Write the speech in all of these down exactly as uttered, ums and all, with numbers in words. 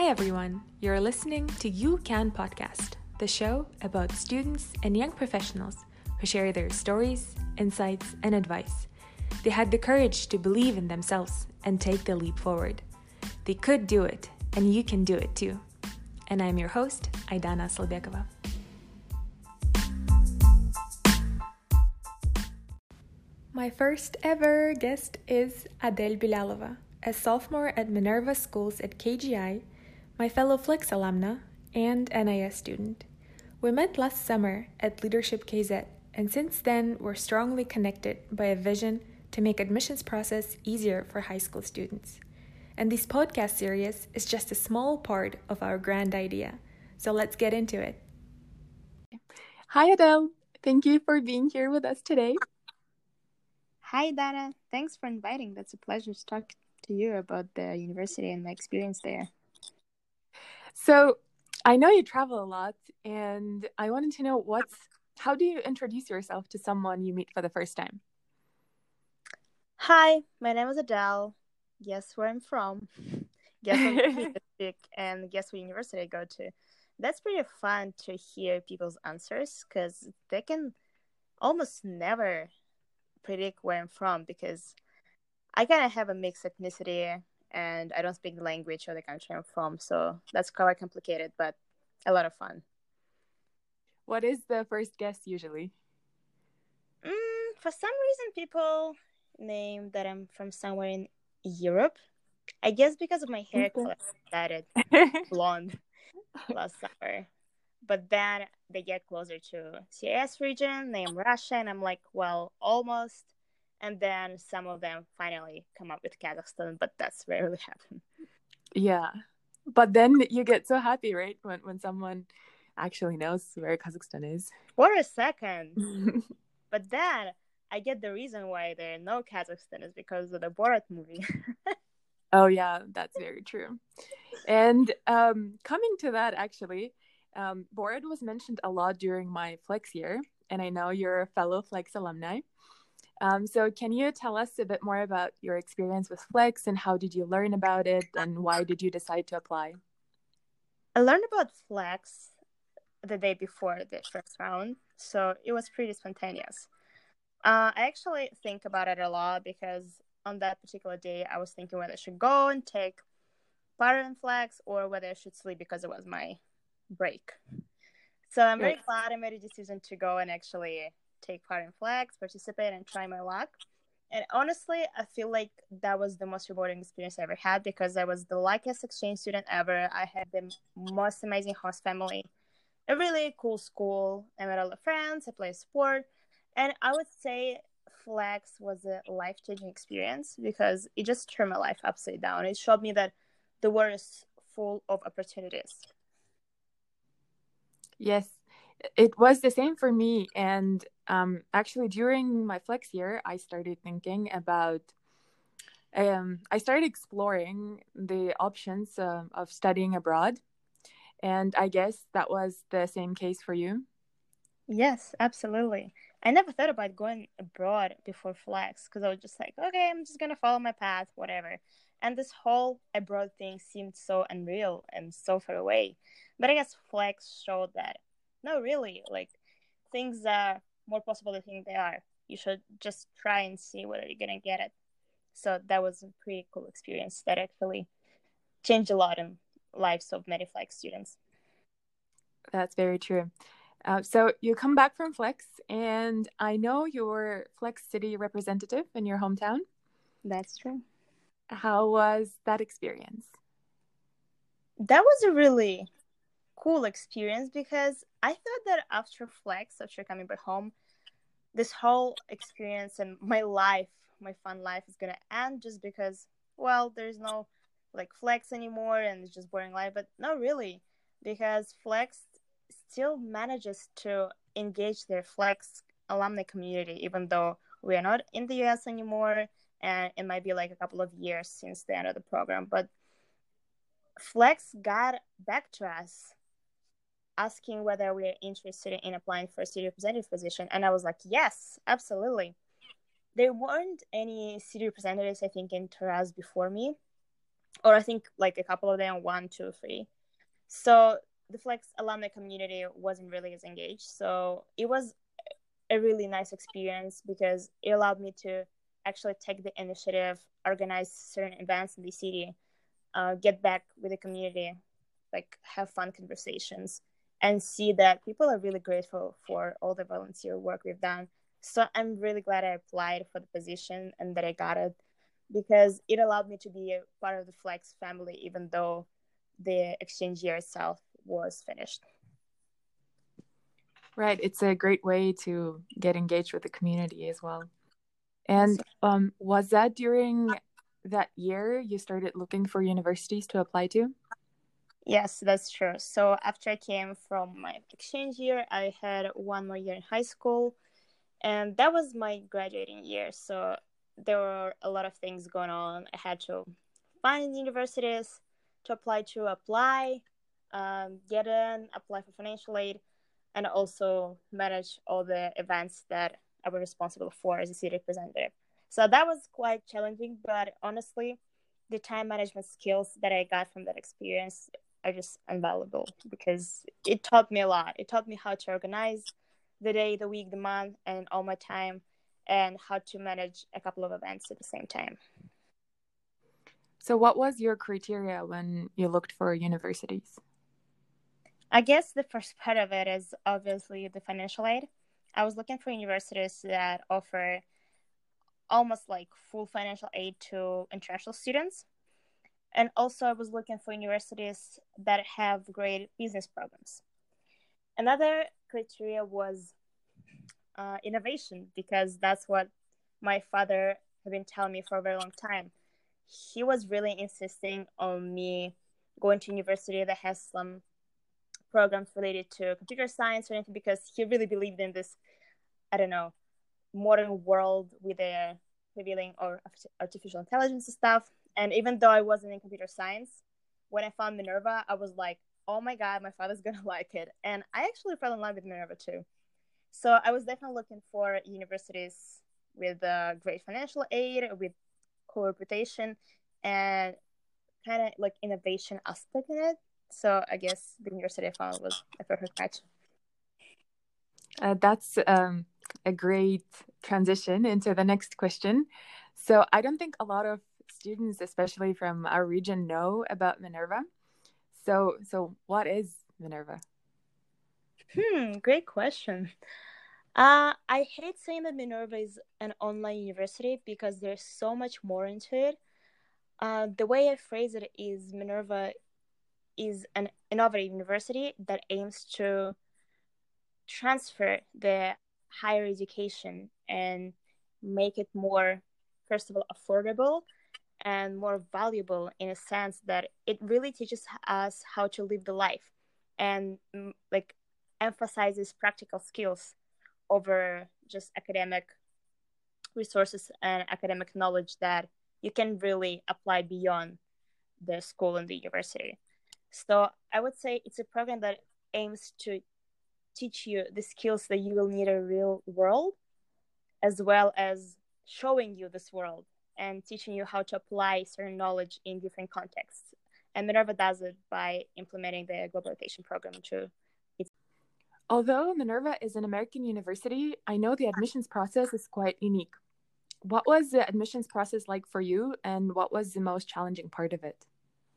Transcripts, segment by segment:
Hi everyone, you're listening to You Can Podcast, the show about students and young professionals who share their stories, insights, and advice. They had the courage to believe in themselves and take the leap forward. They could do it, and you can do it too. And I'm your host, Aidana Salbekova. My first ever guest is Adele Bilalova, a sophomore at Minerva Schools at K G I, my fellow Flex alumna, and N I S student. We met last summer at Leadership K Z, and since then we're strongly connected by a vision to make admissions process easier for high school students. And this podcast series is just a small part of our grand idea, so let's get into it. Hi Adele, thank you for being here with us today. Hi, Dana. Thanks for inviting. That's a pleasure to talk to you about the university and my experience there. So, I know you travel a lot, and I wanted to know what's how do you introduce yourself to someone you meet for the first time? Hi, my name is Adele. Guess where I'm from? Guess what I speak, and guess what university I go to. That's pretty fun to hear people's answers because they can almost never predict where I'm from because I kind of have a mixed ethnicity and I don't speak the language or the country I'm from, so that's quite complicated, but a lot of fun. What is the first guess usually? Mm, for some reason, people name that I'm from somewhere in Europe. I guess because of my hair color, I started blonde last summer. But then they get closer to C I S region, name Russia, and I'm like, well, almost. And then some of them finally come up with Kazakhstan, but that's rarely happen. Yeah. But then you get so happy, right? When when someone actually knows where Kazakhstan is. For a second. But then I get the reason why there no Kazakhstan is because of the Borat movie. Oh, yeah, that's very true. And um, coming to that, actually, um, Borat was mentioned a lot during my Flex year, and I know you're a fellow Flex alumni. Um, so can you tell us a bit more about your experience with Flex and how did you learn about it and why did you decide to apply? I learned about Flex the day before the first round, so it was pretty spontaneous. Uh, I actually think about it a lot because on that particular day, I was thinking whether I should go and take part in Flex or whether I should sleep because it was my break. So I'm very right. glad I made a decision to go and actually take part in Flex, participate, and try my luck. And honestly, I feel like that was the most rewarding experience I ever had because I was the luckiest exchange student ever. I had the most amazing host family, a really cool school. I met a lot of friends. I played sport. And I would say Flex was a life-changing experience because it just turned my life upside down. It showed me that the world is full of opportunities. Yes, it was the same for me. And um, actually, during my Flex year, I started thinking about, um, I started exploring the options uh, of studying abroad. And I guess that was the same case for you. Yes, absolutely. I never thought about going abroad before Flex because I was just like, okay, I'm just going to follow my path, whatever. And this whole abroad thing seemed so unreal and so far away. But I guess Flex showed that, no, really, like, things are more possible than you think they are. You should just try and see whether you're going to get it. So that was a pretty cool experience that actually changed a lot in lives of many Flex students. That's very true. Uh, so you come back from Flex, and I know you're Flex City representative in your hometown. That's true. How was that experience? That was a really cool experience because I thought that after Flex, after coming back home, this whole experience and my life, my fun life is going to end just because, well, there's no like Flex anymore and it's just boring life. But no, really, because Flex still manages to engage their Flex alumni community, even though we are not in the U S anymore, and it might be like a couple of years since the end of the program. But Flex got back to us asking whether we are interested in applying for a city representative position, and I was like, yes, absolutely. There weren't any city representatives, I think, in Taraz before me, or I think like a couple of them, one, two, three. So the Flex alumni community wasn't really as engaged. So it was a really nice experience because it allowed me to actually take the initiative, organize certain events in the city, uh, get back with the community, like have fun conversations, and see that people are really grateful for all the volunteer work we've done. So I'm really glad I applied for the position and that I got it, because it allowed me to be a part of the Flex family, even though the exchange year itself was finished. Right. It's a great way to get engaged with the community as well. And um, was that during that year you started looking for universities to apply to? Yes, that's true. So after I came from my exchange year, I had one more year in high school, and that was my graduating year. So there were a lot of things going on. I had to find universities to apply to, apply, um, get in, apply for financial aid, and also manage all the events that I was responsible for as a city representative. So that was quite challenging, but honestly, the time management skills that I got from that experience are just invaluable, because it taught me a lot. It taught me how to organize the day, the week, the month, and all my time, and how to manage a couple of events at the same time. So what was your criteria when you looked for universities? I guess the first part of it is obviously the financial aid. I was looking for universities that offer almost like full financial aid to international students. And also I was looking for universities that have great business programs. Another criteria was uh, innovation, because that's what my father had been telling me for a very long time. He was really insisting on me going to university that has some programs related to computer science or anything, because he really believed in this, I don't know, modern world with the revealing or artificial intelligence and stuff. And even though I wasn't in computer science, when I found Minerva, I was like, oh my God, my father's gonna like it. And I actually fell in love with Minerva too. So I was definitely looking for universities with uh, great financial aid, with cool reputation, and kind of like innovation aspect in it. So I guess the university I found was a perfect match. Uh, that's um, a great transition into the next question. So I don't think a lot of students, especially from our region, know about Minerva. So, so what is Minerva? Hmm, great question. Uh, I hate saying that Minerva is an online university because there's so much more into it. Uh, the way I phrase it is Minerva is an innovative university that aims to transfer the higher education and make it more, first of all, affordable and more valuable, in a sense that it really teaches us how to live the life and mm, like emphasizes practical skills over just academic resources and academic knowledge that you can really apply beyond the school and the university. So I would say it's a program that aims to teach you the skills that you will need in a real world, as well as showing you this world and teaching you how to apply certain knowledge in different contexts. And Minerva does it by implementing the global rotation program into its. Although Minerva is an American university, I know the admissions process is quite unique. What was the admissions process like for you, and what was the most challenging part of it?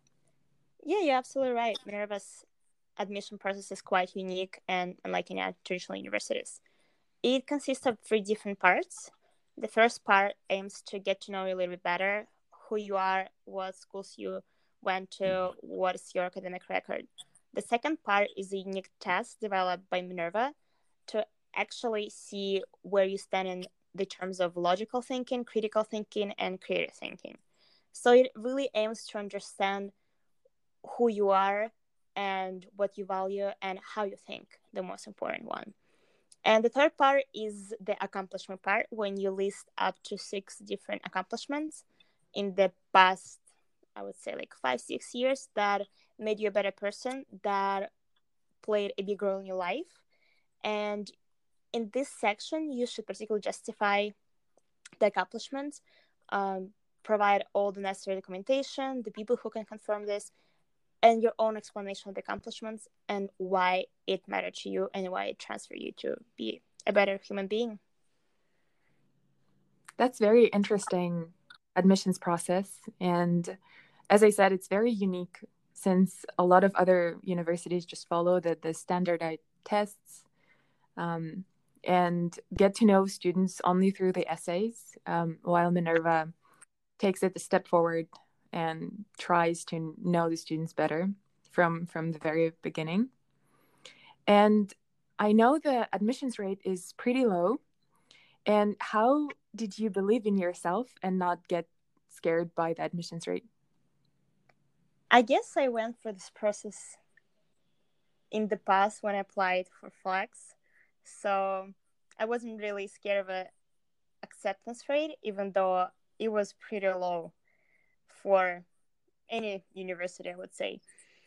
Yeah, you're absolutely right. Minerva's admission process is quite unique and unlike in traditional universities. It consists of three different parts. The first part aims to get to know you a little bit better, who you are, what schools you went to, what is your academic record. The second part is a unique test developed by Minerva to actually see where you stand in the terms of logical thinking, critical thinking, and creative thinking. So it really aims to understand who you are and what you value and how you think, the most important one. And the third part is the accomplishment part, when you list up to six different accomplishments in the past, I would say like five, six years that made you a better person, that played a big role in your life. And in this section, you should particularly justify the accomplishments, um, provide all the necessary documentation, the people who can confirm this, and your own explanation of the accomplishments and why it mattered to you and why it transferred you to be a better human being. That's very interesting admissions process. And as I said, it's very unique since a lot of other universities just follow the, the standardized tests um, and get to know students only through the essays, um, while Minerva takes it a step forward and tries to know the students better from, from the very beginning. And I know the admissions rate is pretty low. And how did you believe in yourself and not get scared by the admissions rate? I guess I went through this process in the past when I applied for Flex. So I wasn't really scared of the acceptance rate, even though it was pretty low for any university, I would say.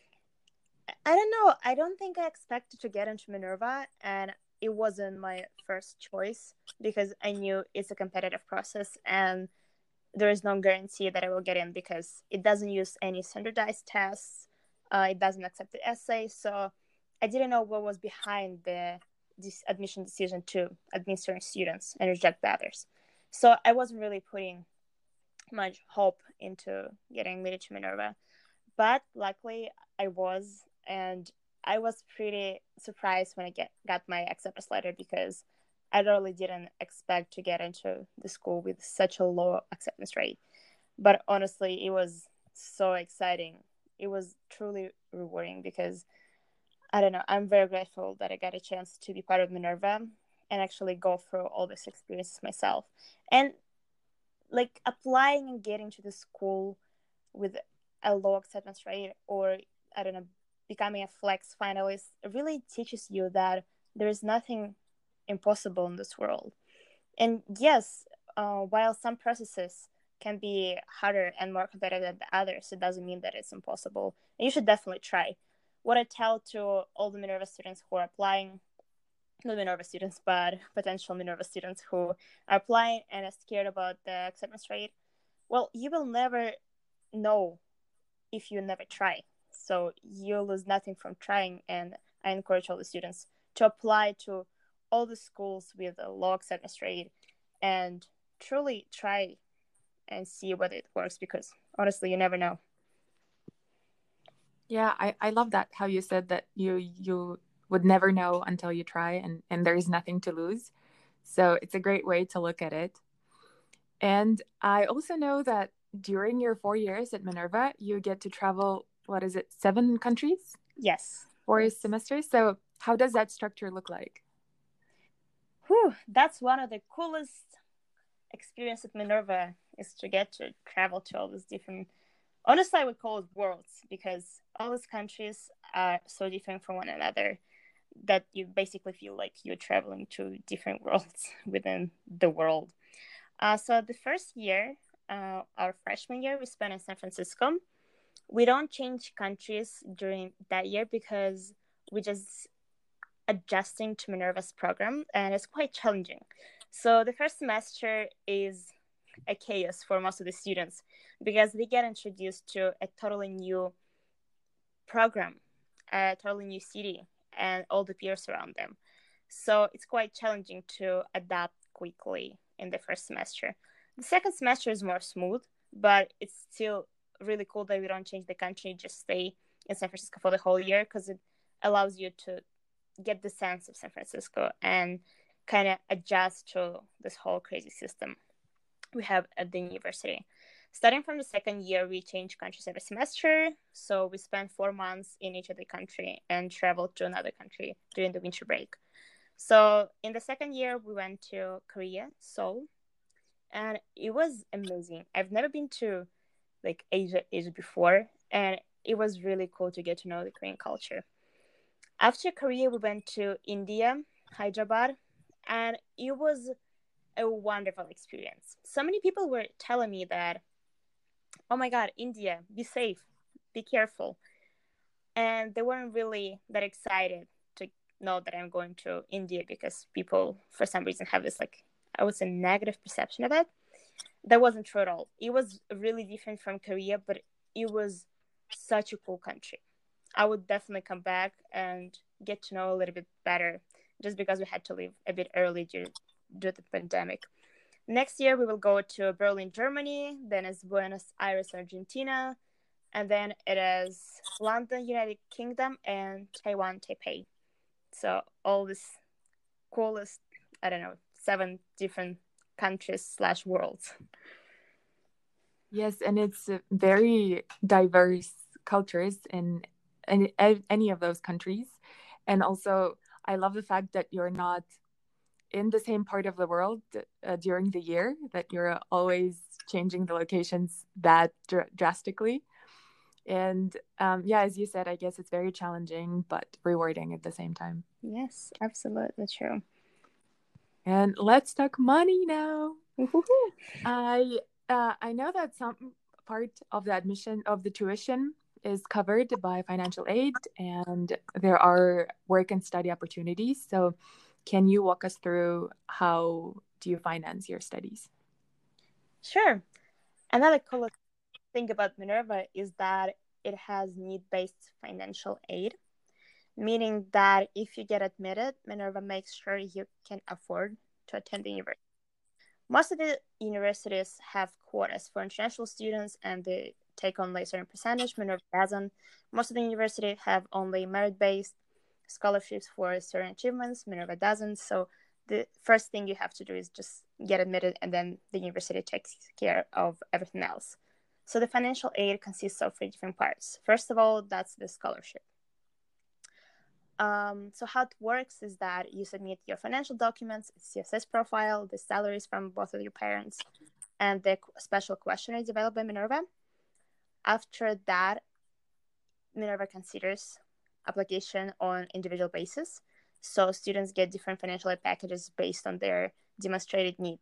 I don't know. I don't think I expected to get into Minerva, and it wasn't my first choice because I knew it's a competitive process and there is no guarantee that I will get in because it doesn't use any standardized tests. Uh, it doesn't accept the essay. So I didn't know what was behind the this admission decision to admit certain students and reject the others. So I wasn't really putting much hope into getting admitted to Minerva. But luckily I was, and I was pretty surprised when I get got my acceptance letter because I really didn't expect to get into the school with such a low acceptance rate. But honestly, it was so exciting. It was truly rewarding because, I don't know, I'm very grateful that I got a chance to be part of Minerva and actually go through all these experiences myself. And like applying and getting to the school with a low acceptance rate, or I don't know, becoming a Flex finalist really teaches you that there is nothing impossible in this world. And yes, uh, while some processes can be harder and more competitive than the others, it doesn't mean that it's impossible. And you should definitely try. What I tell to all the Minerva students who are applying, not Minerva students, but potential Minerva students who are applying and are scared about the acceptance rate, well, you will never know if you never try. So you lose nothing from trying. And I encourage all the students to apply to all the schools with a low acceptance rate and truly try and see whether it works, because honestly, you never know. Yeah, I, I love that, how you said that you you would never know until you try, and, and there is nothing to lose. So it's a great way to look at it. And I also know that during your four years at Minerva, you get to travel, what is it, seven countries? Yes. Four semesters. So how does that structure look like? Whew, that's one of the coolest experiences at Minerva, is to get to travel to all these different, honestly, I would call it worlds, because all these countries are so different from one another that you basically feel like you're traveling to different worlds within the world. Uh, so the first year, uh, our freshman year, we spent in San Francisco. We don't change countries during that year because we just adjusting to Minerva's program, and it's quite challenging. So the first semester is a chaos for most of the students because they get introduced to a totally new program, a totally new city, and all the peers around them. So it's quite challenging to adapt quickly in the first semester. The second semester is more smooth, but it's still really cool that we don't change the country, just stay in San Francisco for the whole year, because it allows you to get the sense of San Francisco and kind of adjust to this whole crazy system we have at the university. Starting from the second year, we change countries every semester. So we spend four months in each of the country and travel to another country during the winter break. So in the second year, we went to Korea, Seoul, and it was amazing. I've never been to like Asia, Asia before, and it was really cool to get to know the Korean culture. After Korea, we went to India, Hyderabad, and it was a wonderful experience. So many people were telling me that, oh my God, India, be safe, be careful. And they weren't really that excited to know that I'm going to India because people, for some reason, have this, like, I would say, negative perception of it. That wasn't true at all. It was really different from Korea, but it was such a cool country. I would definitely come back and get to know a little bit better, just because we had to leave a bit early due, due to the pandemic. Next year, we will go to Berlin, Germany, then is Buenos Aires, Argentina, and then it is London, United Kingdom, and Taiwan, Taipei. So all this coolest, I don't know, seven different countries slash worlds. Yes, and it's very diverse cultures in, in any of those countries. And also, I love the fact that you're not in the same part of the world uh, during the year, that you're always changing the locations that dr- drastically. And um, yeah, as you said, I guess it's very challenging, but rewarding at the same time. Yes, absolutely true. And let's talk money now. I uh, I know that some part of the admission of the tuition is covered by financial aid, and there are work and study opportunities. So can you walk us through how do you finance your studies? Sure. Another cool thing about Minerva is that it has need-based financial aid, meaning that if you get admitted, Minerva makes sure you can afford to attend the university. Most of the universities have quotas for international students and they take only a certain percentage. Minerva doesn't. Most of the universities have only merit-based scholarships for certain achievements. Minerva doesn't. So the first thing you have to do is just get admitted, and then the university takes care of everything else. So the financial aid consists of three different parts. First of all, that's the scholarship. Um, so how it works is that you submit your financial documents, C S S profile, the salaries from both of your parents, and the special questionnaire developed by Minerva. After that, Minerva considers application on individual basis. So students get different financial aid packages based on their demonstrated need.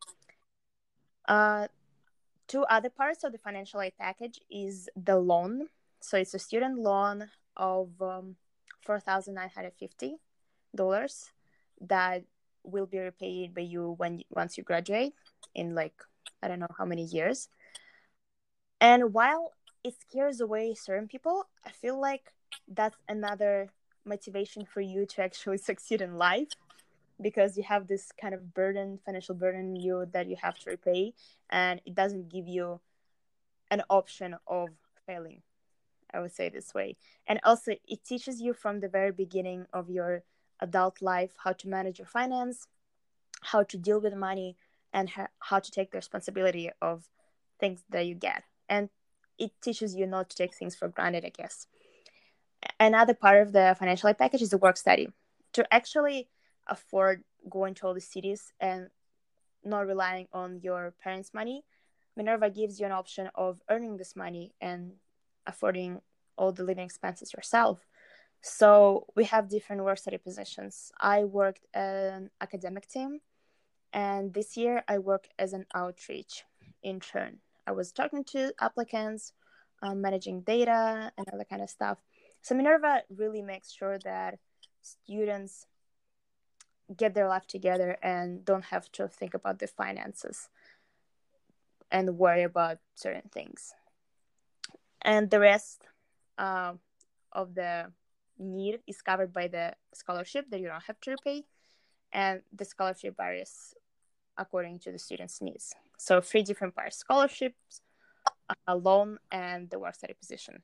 Uh, two other parts of the financial aid package is the loan. So it's a student loan of um, four thousand nine hundred fifty dollars that will be repaid by you when once you graduate in like, I don't know how many years. And while it scares away certain people, I feel like that's another motivation for you to actually succeed in life, because you have this kind of burden, financial burden in you that you have to repay, and it doesn't give you an option of failing, I would say this way. And also it teaches you from the very beginning of your adult life how to manage your finance, how to deal with money, and ha- how to take the responsibility of things that you get. And it teaches you not to take things for granted, I guess. Another part of the financial aid package is the work study. To actually afford going to all the cities and not relying on your parents' money, Minerva gives you an option of earning this money and affording all the living expenses yourself. So we have different work study positions. I worked an academic team, and this year I work as an outreach intern. I was talking to applicants, um, managing data, and other kind of stuff. So Minerva really makes sure that students get their life together and don't have to think about the finances and worry about certain things. And the rest uh, of the need is covered by the scholarship that you don't have to repay, and the scholarship varies according to the student's needs. So three different parts: scholarships, a loan, and the work study position.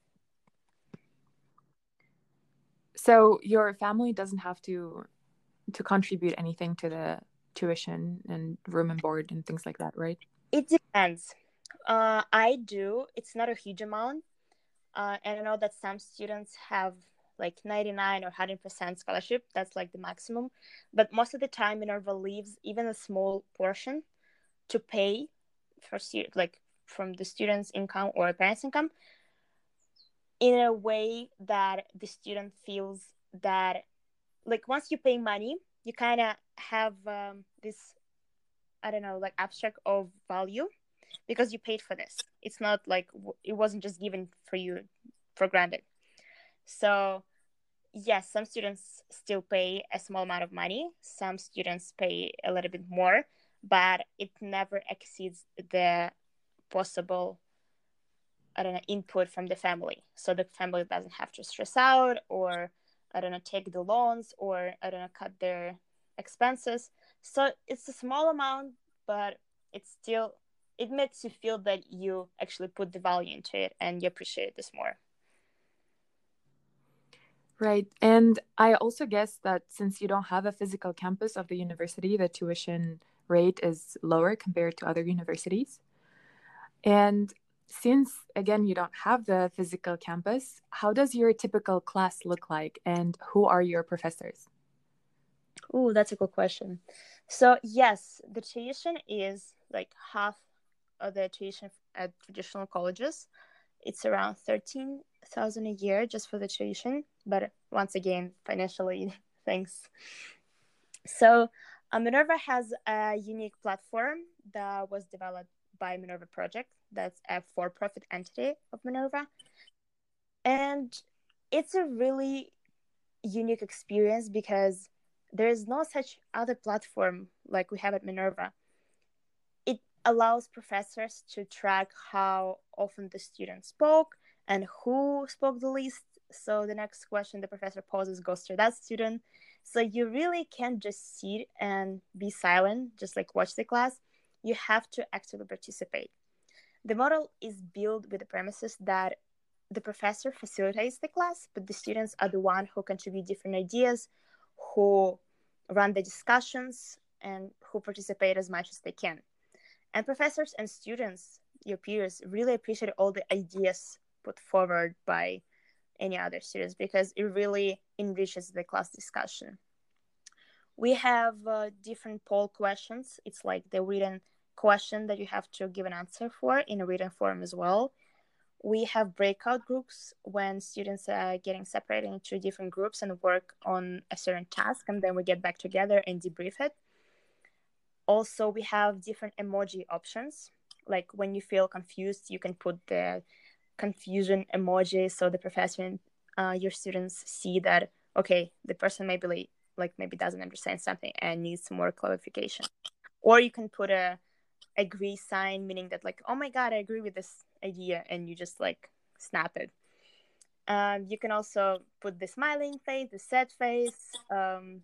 So your family doesn't have to to contribute anything to the tuition and room and board and things like that, right? It depends. Uh, I do. It's not a huge amount. Uh, and I know that some students have like ninety-nine or one hundred percent scholarship. That's like the maximum. But most of the time, Minerva leaves even a small portion to pay for stu- like from the student's income or parents' income, in a way that the student feels that, like, once you pay money, you kind of have um, this, I don't know, like abstract of value, because you paid for this. It's not like it wasn't just given for you for granted. So yes, some students still pay a small amount of money. Some students pay a little bit more, but it never exceeds the possible, I don't know, input from the family. So the family doesn't have to stress out or, I don't know, take the loans or, I don't know, cut their expenses. So it's a small amount, but it's still, it makes you feel that you actually put the value into it and you appreciate this more. Right. And I also guess that since you don't have a physical campus of the university, the tuition rate is lower compared to other universities. And since, again, you don't have the physical campus, how does your typical class look like and who are your professors? Oh, that's a good question. So, yes, the tuition is like half of the tuition at traditional colleges. It's around thirteen thousand a year just for the tuition, but once again, financially, thanks. So, uh, Minerva has a unique platform that was developed by Minerva Project. That's a for-profit entity of Minerva. And it's a really unique experience because there is no such other platform like we have at Minerva. It allows professors to track how often the student spoke and who spoke the least. So the next question the professor poses goes to that student. So you really can't just sit and be silent, just like watch the class. You have to actively participate. The model is built with the premises that the professor facilitates the class, but the students are the one who contribute different ideas, who run the discussions, and who participate as much as they can. And professors and students, your peers, really appreciate all the ideas put forward by any other students because it really enriches the class discussion. We have uh, different poll questions. It's like the written question that you have to give an answer for in a written form as well. We have breakout groups when students are getting separated into different groups and work on a certain task, and then we get back together and debrief it. Also, we have different emoji options. Like when you feel confused, you can put the confusion emoji so the professor and uh, your students see that, okay, the person maybe like, like maybe doesn't understand something and needs some more clarification. Or you can put a agree sign, meaning that like, oh my god, I agree with this idea, and you just like snap it. Um, you can also put the smiling face, the sad face, um,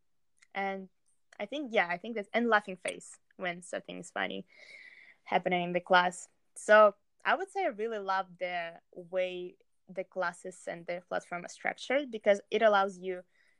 and I think yeah, I think that's and laughing face when something is funny happening in the class. So I would say I really love the way the classes and the platform are structured because it allows you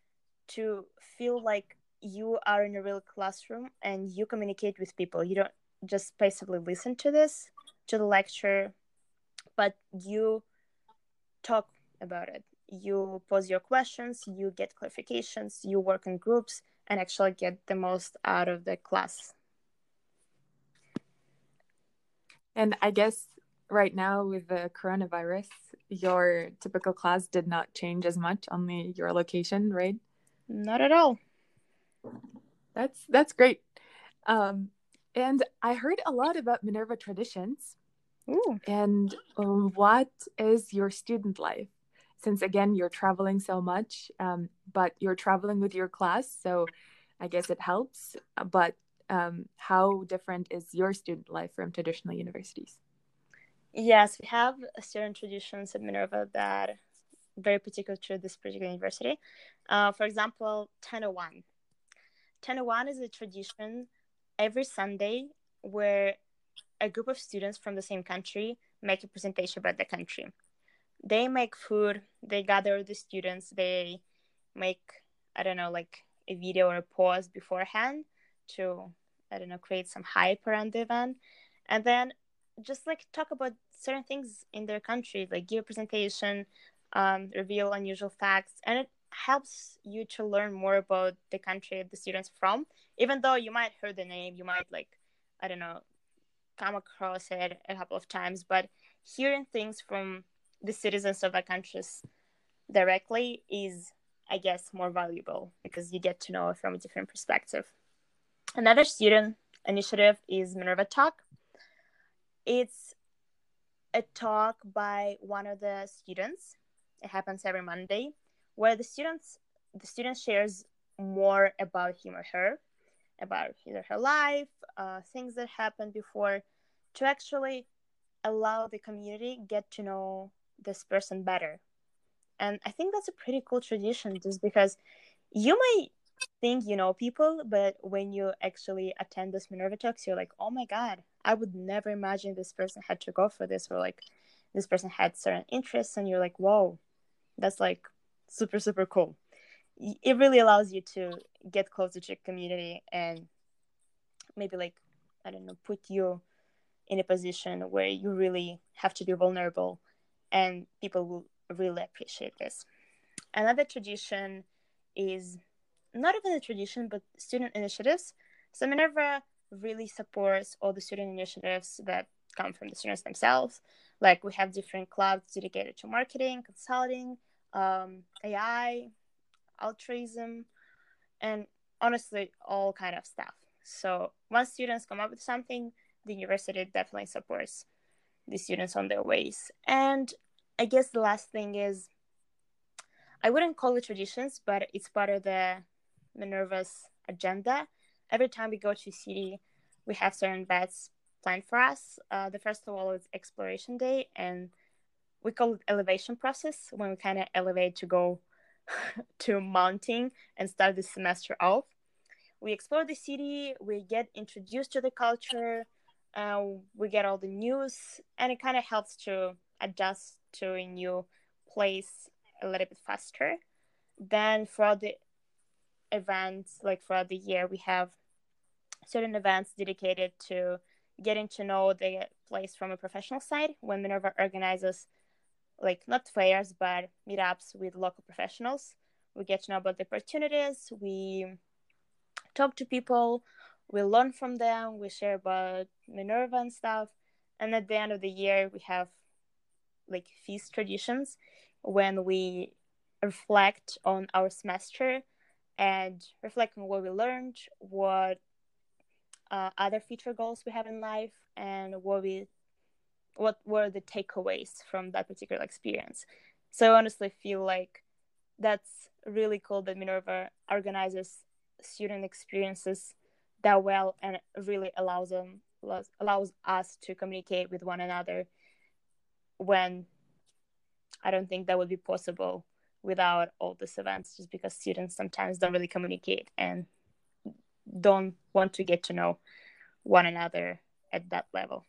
to feel like you are in a real classroom and you communicate with people. You don't just passively listen to this, to the lecture, but you talk about it. You pose your questions, you get clarifications, you work in groups, and actually get the most out of the class. And I guess right now with the coronavirus, your typical class did not change as much, only your location, right? Not at all. That's that's great. Um, and I heard a lot about Minerva traditions. Ooh. And um, what is your student life? Since again, you're traveling so much, um, but you're traveling with your class, so I guess it helps. But um, how different is your student life from traditional universities? Yes, we have certain traditions at Minerva that are very particular to this particular university. Uh, for example, ten oh one. ten oh one is a tradition every Sunday where a group of students from the same country make a presentation about the country. They make food, they gather the students, they make, I don't know, like a video or a pause beforehand to, I don't know, create some hype around the event. And then just like talk about certain things in their country, like give a presentation, um, reveal unusual facts. And it helps you to learn more about the country the students from, even though you might hear the name, you might like, I don't know, come across it a couple of times, but hearing things from the citizens of the countries directly is, I guess, more valuable because you get to know it from a different perspective. Another student initiative is Minerva Talk. It's a talk by one of the students. It happens every Monday, where the students the student shares more about him or her. about his or her life, uh, things that happened before, to actually allow the community get to know this person better. And I think that's a pretty cool tradition, just because you might think you know people, but when you actually attend this Minerva Talks, you're like, oh my god, I would never imagine this person had to go for this, or like this person had certain interests, and you're like, whoa, that's like super, super cool. It really allows you to get closer to your community and maybe like, I don't know, put you in a position where you really have to be vulnerable, and people will really appreciate this. Another tradition is not even a tradition, but student initiatives. So Minerva really supports all the student initiatives that come from the students themselves. Like we have different clubs dedicated to marketing, consulting, um, A I, altruism, and honestly, all kind of stuff. So once students come up with something, the university definitely supports the students on their ways. And I guess the last thing is, I wouldn't call it traditions, but it's part of the Minerva's agenda. Every time we go to a city, we have certain bets planned for us. Uh, the first of all is exploration day, and we call it elevation process, when we kind of elevate to go to mounting and start the semester off. We explore the city, we get introduced to the culture, uh, we get all the news, and it kind of helps to adjust to a new place a little bit faster. Then throughout the events, like throughout the year, we have certain events dedicated to getting to know the place from a professional side, when Minerva organizes like not fairs but meetups with local professionals. We get to know about the opportunities, we talk to people, we learn from them, we share about Minerva and stuff. And at the end of the year, we have like feast traditions, when we reflect on our semester and reflect on what we learned, what uh, other future goals we have in life, and what we what were the takeaways from that particular experience. So I honestly feel like that's really cool that Minerva organizes student experiences that well, and really allows them allows us to communicate with one another, when I don't think that would be possible without all these events, just because students sometimes don't really communicate and don't want to get to know one another at that level.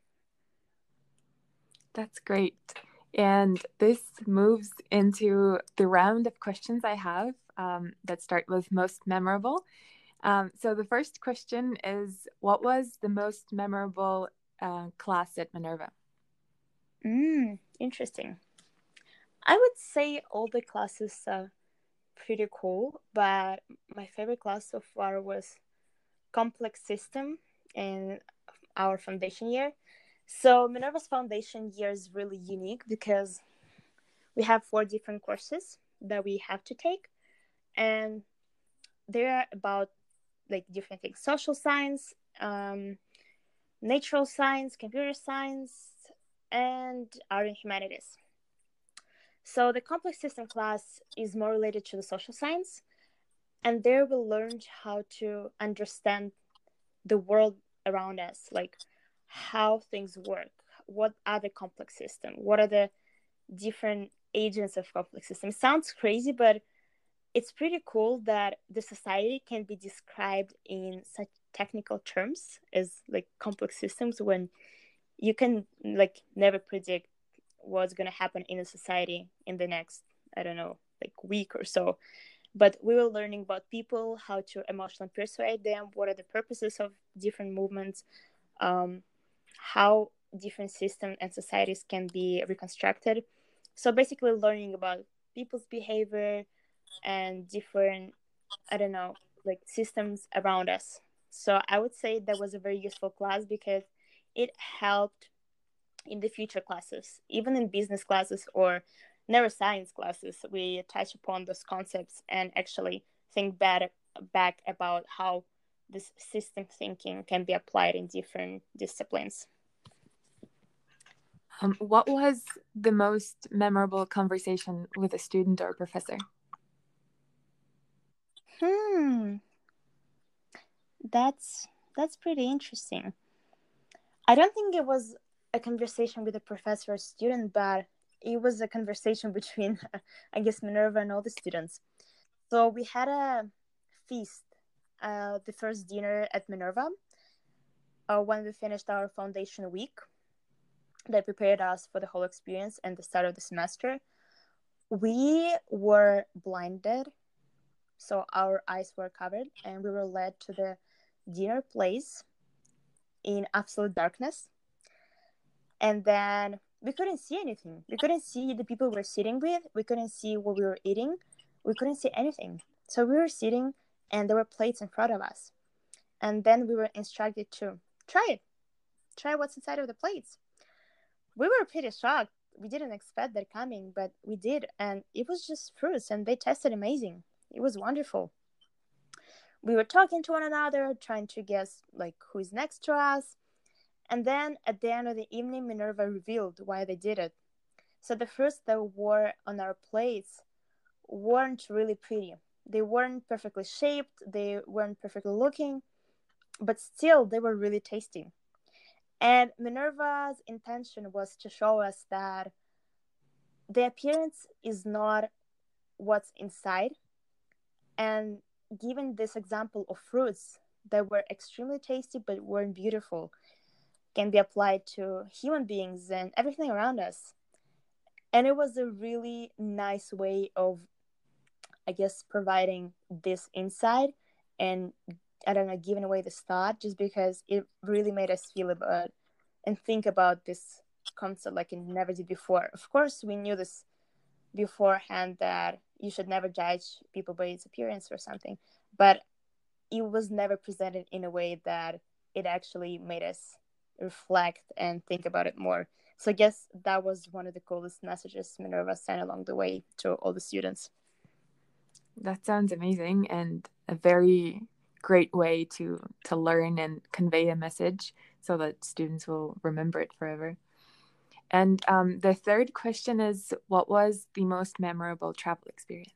That's great. And this moves into the round of questions I have um, that start with most memorable. Um, so the first question is, what was the most memorable uh, class at Minerva? Mm, interesting. I would say all the classes are pretty cool, but my favorite class so far was complex system in our foundation year. So Minerva's foundation year is really unique because we have four different courses that we have to take, and they're about like different things: social science, um, natural science, computer science, and art and humanities. So the complex system class is more related to the social science, and there we learned how to understand the world around us, like how things work, what are the complex systems, what are the different agents of complex systems. Sounds crazy, but it's pretty cool that the society can be described in such technical terms as like complex systems, when you can like never predict what's going to happen in a society in the next, I don't know, like week or so. But we were learning about people, how to emotionally persuade them, what are the purposes of different movements, um, how different systems and societies can be reconstructed. So basically learning about people's behavior and different, I don't know, like systems around us. So I would say that was a very useful class because it helped in the future classes, even in business classes or neuroscience classes. We touch upon those concepts and actually think back, back about how this system thinking can be applied in different disciplines. Um, what was the most memorable conversation with a student or professor? Hmm. That's that's pretty interesting. I don't think it was a conversation with a professor or student, but it was a conversation between, I guess, Minerva and all the students. So we had a feast, uh, the first dinner at Minerva, uh, when we finished our foundation week that prepared us for the whole experience and the start of the semester. We were blinded, so our eyes were covered, and we were led to the dinner place in absolute darkness. And then we couldn't see anything. We couldn't see the people we were sitting with. We couldn't see what we were eating. We couldn't see anything. So we were sitting, and there were plates in front of us. And then we were instructed to try it. Try what's inside of the plates. We were pretty shocked. We didn't expect that coming, but we did. And it was just fruits, and they tasted amazing. It was wonderful. We were talking to one another, trying to guess like who's next to us. And then at the end of the evening, Minerva revealed why they did it. So the fruits that were on our plates weren't really pretty. They weren't perfectly shaped, they weren't perfectly looking, but still they were really tasty. And Minerva's intention was to show us that the appearance is not what's inside. And given this example of fruits that were extremely tasty but weren't beautiful, can be applied to human beings and everything around us. And it was a really nice way of, I guess, providing this insight and, I don't know, giving away this thought, just because it really made us feel about and think about this concept like it never did before. Of course, we knew this beforehand, that you should never judge people by its appearance or something, but it was never presented in a way that it actually made us reflect and think about it more. So I guess that was one of the coolest messages Minerva sent along the way to all the students. That sounds amazing, and a very great way to to learn and convey a message so that students will remember it forever. And um, the third question is, what was the most memorable travel experience?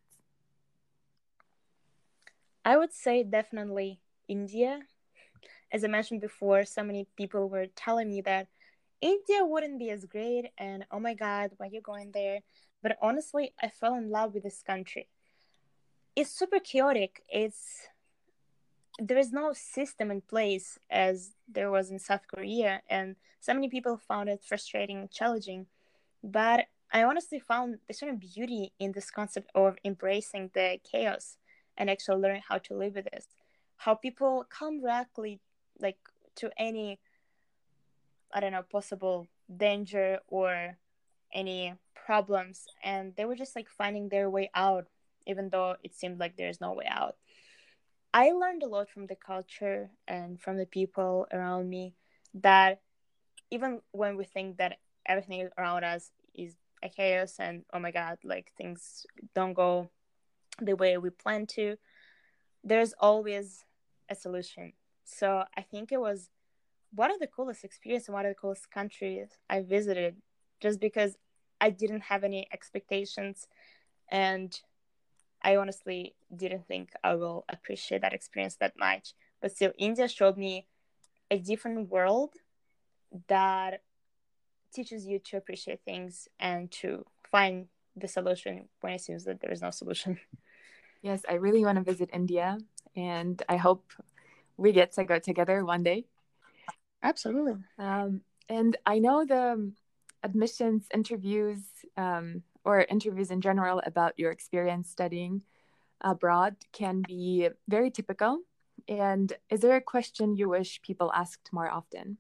I would say definitely India. As I mentioned before, so many people were telling me that India wouldn't be as great, and oh my god, why are you going there? But honestly, I fell in love with this country. It's super chaotic. It's there is no system in place as there was in South Korea, and so many people found it frustrating and challenging. But I honestly found a certain beauty in this concept of embracing the chaos and actually learning how to live with this. How people come directly, like, to any, I don't know, possible danger or any problems, and they were just like finding their way out, even though it seemed like there's no way out. I learned a lot from the culture and from the people around me, that even when we think that everything around us is a chaos and oh my god, like things don't go the way we plan to, there's always a solution. So I think it was one of the coolest experiences and one of the coolest countries I visited, just because I didn't have any expectations, and I honestly didn't think I will appreciate that experience that much. But still, India showed me a different world that teaches you to appreciate things and to find the solution when it seems that there is no solution. Yes, I really want to visit India, and I hope we get to go together one day. Absolutely. Um, and I know the admissions interviews um, or interviews in general about your experience studying abroad can be very typical. And is there a question you wish people asked more often?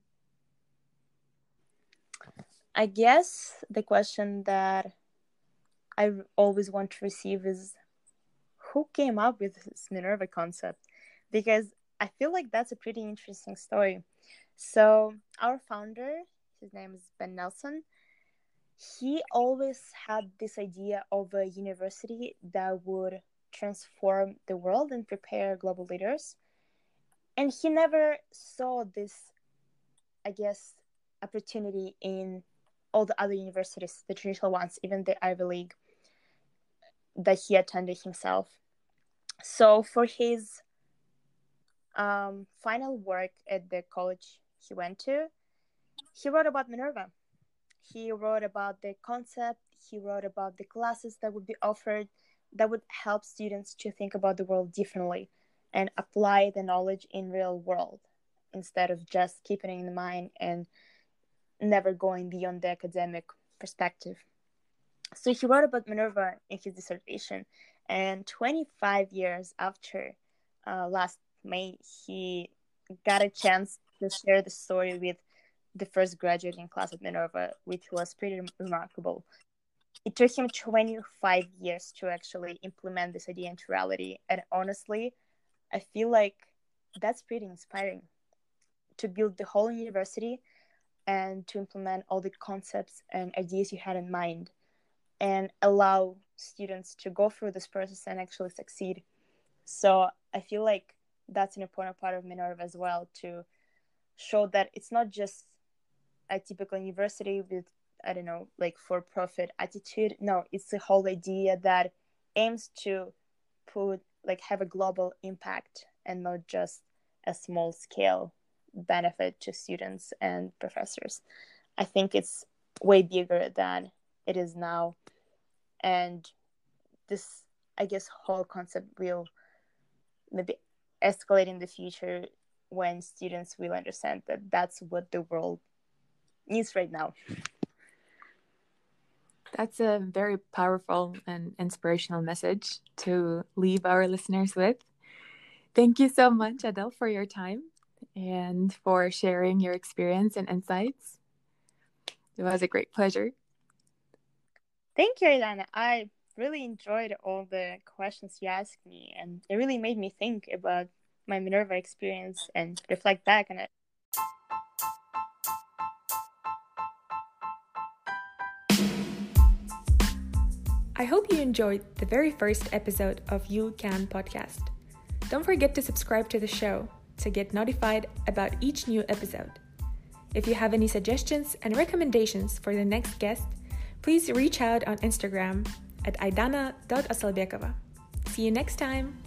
I guess the question that I always want to receive is, who came up with this Minerva concept? Because I feel like that's a pretty interesting story. So our founder, his name is Ben Nelson, he always had this idea of a university that would transform the world and prepare global leaders. And he never saw this, I guess, opportunity in all the other universities, the traditional ones, even the Ivy League that he attended himself. So for his um, final work at the college he went to, he wrote about Minerva. He wrote about the concept, he wrote about the classes that would be offered that would help students to think about the world differently and apply the knowledge in real world instead of just keeping it in mind and never going beyond the academic perspective. So he wrote about Minerva in his dissertation, and twenty-five years after uh, last May, he got a chance to share the story with the first graduating class at Minerva, which was pretty remarkable. It took him twenty-five years to actually implement this idea into reality, and honestly, I feel like that's pretty inspiring, to build the whole university and to implement all the concepts and ideas you had in mind and allow students to go through this process and actually succeed. So I feel like that's an important part of Minerva as well, to show that it's not just a typical university with, I don't know, like for-profit attitude. No, it's the whole idea that aims to put, like, have a global impact and not just a small scale benefit to students and professors. I think it's way bigger than it is now. And this, I guess, whole concept will maybe escalate in the future when students will understand that that's what the world needs right now. That's a very powerful and inspirational message to leave our listeners with. Thank you so much, Adele, for your time and for sharing your experience and insights. It was a great pleasure. Thank you, Ilana. I really enjoyed all the questions you asked me, and it really made me think about my Minerva experience and reflect back on it. I hope you enjoyed the very first episode of You Can podcast. Don't forget to subscribe to the show to get notified about each new episode. If you have any suggestions and recommendations for the next guest, please reach out on Instagram at aidana dot asalbekova. See you next time!